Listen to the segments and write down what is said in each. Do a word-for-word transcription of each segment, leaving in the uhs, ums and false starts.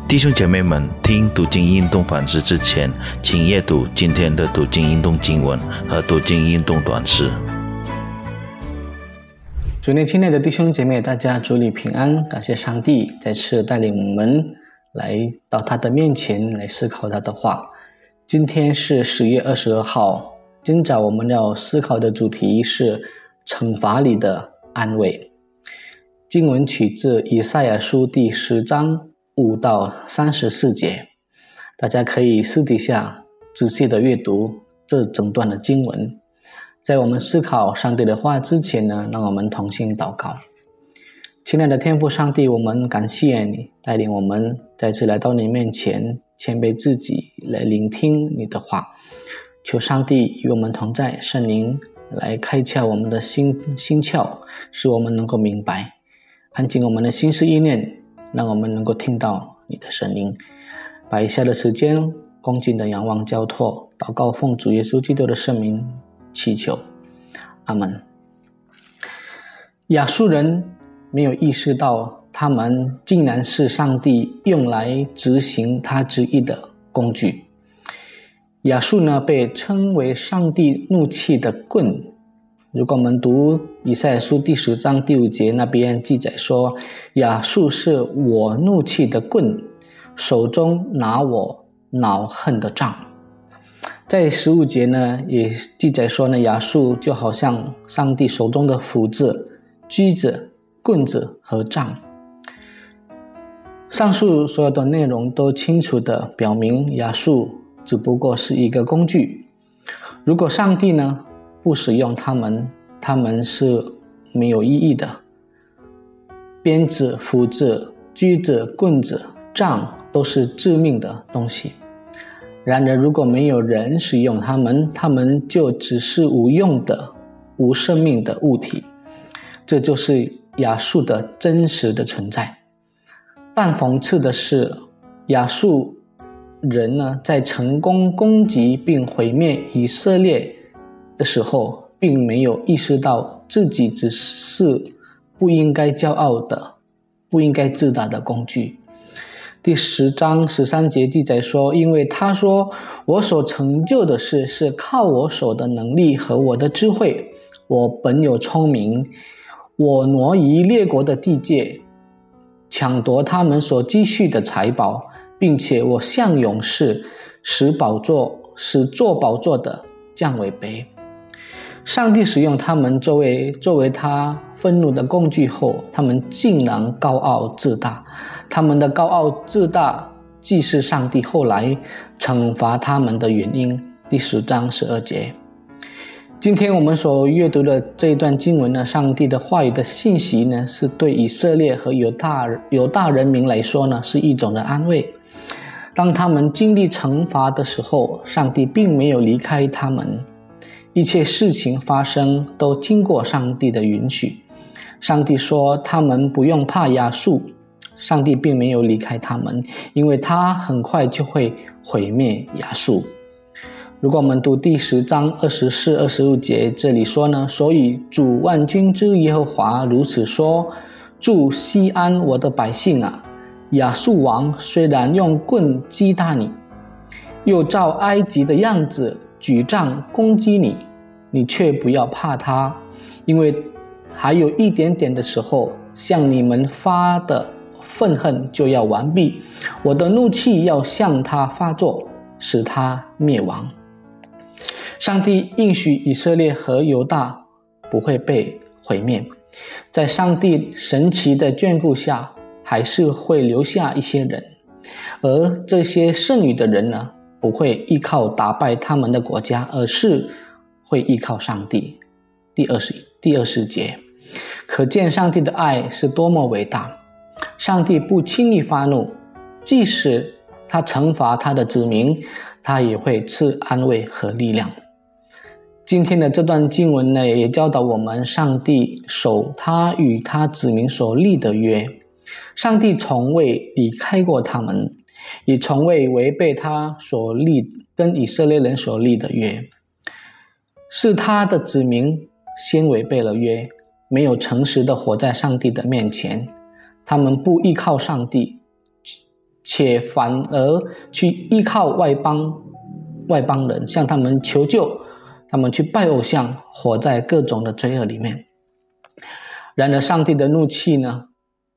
弟兄姐妹们，听读经运动反思之前，请阅读今天的读经运动经文和读经运动短诗。 主内亲爱的弟兄姐妹，大家主里平安，感谢上帝再次带领我们来到他的面前来思考他的话。今天是十月二十二号，今早我们要思考的主题是惩罚里的安慰。经文取自以赛亚书第十章五到三十四节，大家可以私底下仔细的阅读这整段的经文。在我们思考上帝的话之前呢，让我们同心祷告。亲爱的天父上帝，我们感谢你带领我们再次来到你面前，谦卑自己来聆听你的话。求上帝与我们同在，圣灵来开窍我们的心心窍，使我们能够明白，安静我们的心思意念，让我们能够听到你的声音。把以下的时间恭敬的仰望交托，祷告奉主耶稣基督的圣名祈求，阿们。亚述人没有意识到他们竟然是上帝用来执行他旨意的工具。亚述呢，被称为上帝怒气的棍。如果我们读以赛亚书第十章第五节，那边记载说，亚述是我怒气的棍，手中拿我恼恨的杖。在十五节呢，也记载说呢，亚述就好像上帝手中的斧子、锯子、棍子和杖。上述所有的内容都清楚地表明，亚述只不过是一个工具。如果上帝呢不使用他们，他们是没有意义的。鞭子、斧子、锯子、棍子、杖都是致命的东西。然而如果没有人使用它们，它们就只是无用的、无生命的物体。这就是亚述的真实的存在。但讽刺的是，亚述人呢，在成功攻击并毁灭以色列的时候，并没有意识到自己只是不应该骄傲的、不应该自大的工具。第十章十三节记载说，因为他说，我所成就的事是靠我手的能力和我的智慧，我本有聪明，我挪移列国的地界，抢夺他们所积蓄的财宝，并且我像勇士，使宝座使做宝座的降为卑。上帝使用他们作为作为他愤怒的工具后，他们竟然高傲自大。他们的高傲自大既是上帝后来惩罚他们的原因。第十章十二节。今天我们所阅读的这一段经文呢，上帝的话语的信息呢，是对以色列和犹大犹大人民来说呢，是一种的安慰。当他们经历惩罚的时候，上帝并没有离开他们，一切事情发生都经过上帝的允许。上帝说他们不用怕亚述，上帝并没有离开他们，因为他很快就会毁灭亚述。如果我们读第十章二十四、二十五节，这里说呢，所以主万军之耶和华如此说，住西安我的百姓啊，亚述王虽然用棍击打你，又照埃及的样子举杖攻击你，你却不要怕他，因为还有一点点的时候，向你们发的愤恨就要完毕，我的怒气要向他发作，使他灭亡。上帝应许以色列和犹大不会被毁灭，在上帝神奇的眷顾下，还是会留下一些人，而这些剩余的人呢，不会依靠打败他们的国家，而是会依靠上帝。第二十第二十节，可见上帝的爱是多么伟大。上帝不轻易发怒，即使他惩罚他的子民，他也会赐安慰和力量。今天的这段经文呢，也教导我们上帝守他与他子民所立的约。上帝从未离开过他们，也从未违背他所立跟以色列人所立的约。是他的子民先违背了约，没有诚实的活在上帝的面前，他们不依靠上帝， 且反而去依靠外邦外邦人，向他们求救，他们去拜偶像，活在各种的罪恶里面。然而上帝的怒气呢，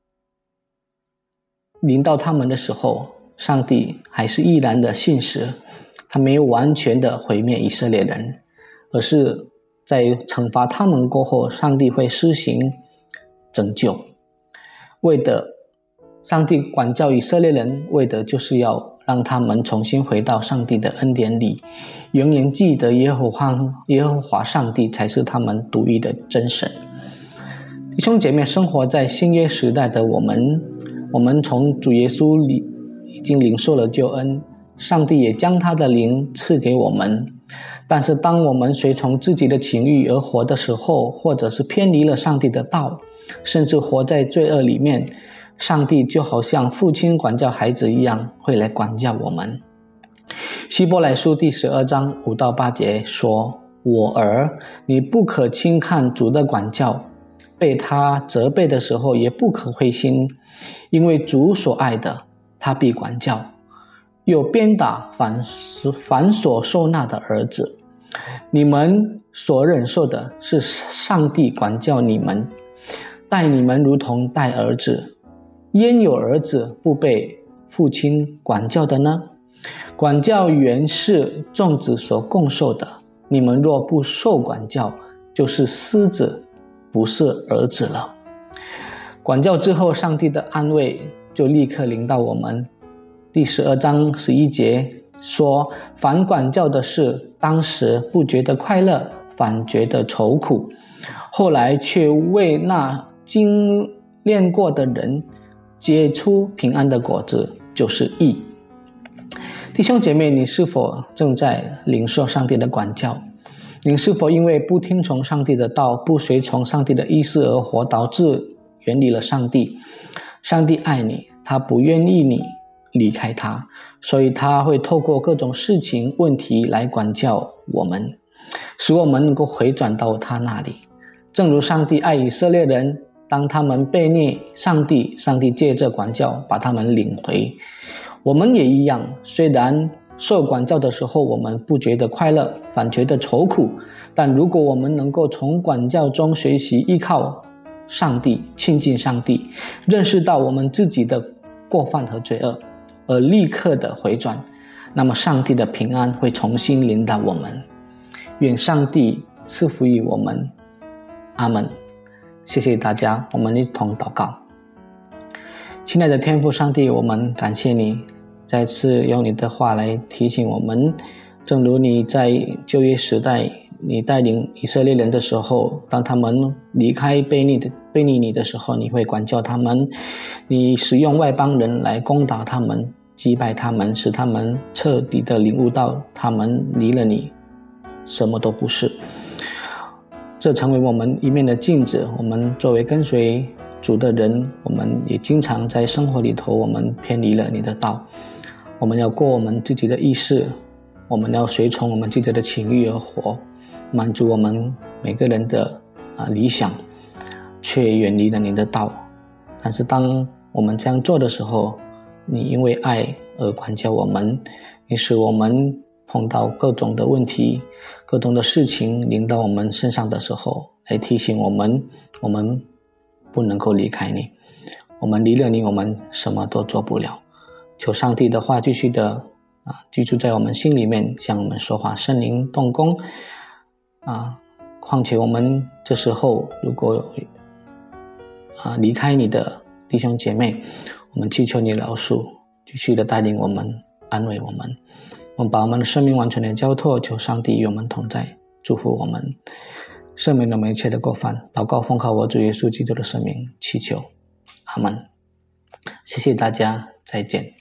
临到他们的时候，上帝还是依然的信实，他没有完全的毁灭以色列人，而是在惩罚他们过后，上帝会施行拯救。为的上帝管教以色列人，为的就是要让他们重新回到上帝的恩典里，永远记得耶和华耶和华上帝才是他们独一的真神。弟兄姐妹，生活在新约时代的我们，我们从主耶稣里已经领受了救恩，上帝也将他的灵赐给我们。但是当我们随从自己的情欲而活的时候，或者是偏离了上帝的道，甚至活在罪恶里面，上帝就好像父亲管教孩子一样，会来管教我们。希伯来书第十二章五到八节说：我儿，你不可轻看主的管教，被他责备的时候也不可灰心，因为主所爱的，他必管教，又鞭打凡凡所受纳的儿子。你们所忍受的是上帝管教你们，待你们如同待儿子。焉有儿子不被父亲管教的呢？管教原是众子所共受的，你们若不受管教，就是私子，不是儿子了。管教之后，上帝的安慰就立刻临到我们。第十二章十一节说：凡管教的事，当时不觉得快乐，反觉得愁苦，后来却为那经练过的人结出平安的果子，就是义。弟兄姐妹，你是否正在领受上帝的管教？你是否因为不听从上帝的道，不随从上帝的意思而活，导致远离了上帝？上帝爱你，他不愿意你离开他，所以他会透过各种事情问题来管教我们，使我们能够回转到他那里。正如上帝爱以色列人，当他们背逆上帝，上帝借着管教把他们领回。我们也一样，虽然受管教的时候我们不觉得快乐，反觉得愁苦，但如果我们能够从管教中学习依靠上帝，亲近上帝，认识到我们自己的过犯和罪恶，而立刻的回转，那么上帝的平安会重新临到我们。愿上帝赐福于我们，阿们。谢谢大家，我们一同祷告。亲爱的天父上帝，我们感谢你再次用你的话来提醒我们，正如你在旧约时代你带领以色列人的时候，当他们离开悖逆的悖逆你的时候，你会管教他们，你使用外邦人来攻打他们，击败他们，使他们彻底的领悟到他们离了你什么都不是。这成为我们一面的镜子，我们作为跟随主的人，我们也经常在生活里头我们偏离了你的道，我们要过我们自己的意识，我们要随从我们自己的情欲而活，满足我们每个人的、啊、理想，却远离了你的道。但是当我们这样做的时候，你因为爱而管教我们，你使我们碰到各种的问题，各种的事情临到我们身上的时候，来提醒我们，我们不能够离开你，我们离了你，我们什么都做不了。求上帝的话继续的啊居住在我们心里面，向我们说话，圣灵动工啊。况且我们这时候如果啊离开你的弟兄姐妹，我们祈求你饶恕，继续的带领我们，安慰我们。我们把我们的生命完全的交托，求上帝与我们同在，祝福我们，赦免我们一切的过犯。祷告奉靠我主耶稣基督的圣名祈求，阿们。谢谢大家，再见。